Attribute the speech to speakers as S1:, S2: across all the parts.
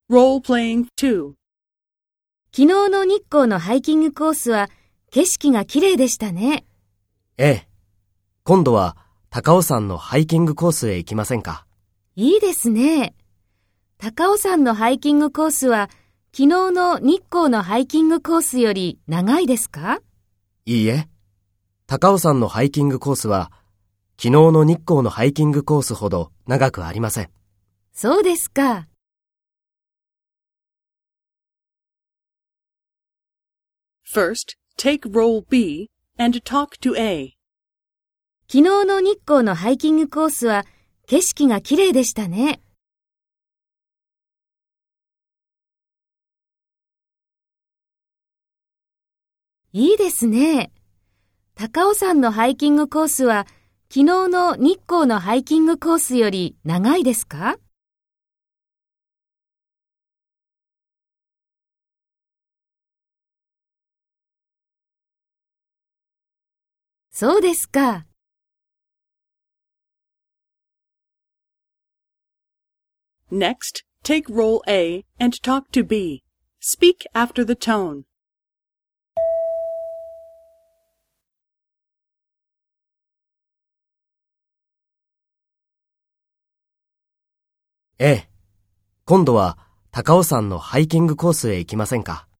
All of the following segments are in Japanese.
S1: Role-playing 2.
S2: 昨日の日光のハイキングコースは景色が綺麗でしたね。
S3: ええ。今度は高尾山のハイキングコースへ行きませんか？
S2: いいですね。高尾山のハイキングコースは昨日の日光のハイキングコースより長いですか？
S3: いいえ。高尾山のハイキングコースは昨日の日光のハイキングコースほど長くありません。
S2: そうですか。
S1: First, take role B and talk to A.
S2: 昨日の日光のハイキングコースは景色が綺麗でしたね。いいですね。高尾山のハイキングコースは昨日の日光のハイキングコースより長いですか？そうですか。
S1: Next, take role A and talk to B. Speak after the tone.
S3: ええ。今度は高尾山のハイキングコースへ行きませんか？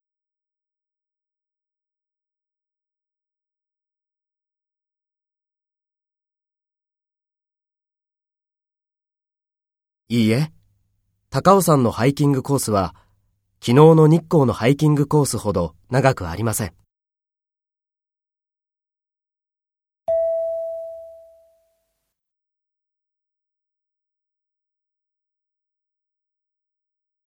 S3: いいえ。高尾山のハイキングコースは昨日の日光のハイキングコースほど長くありません。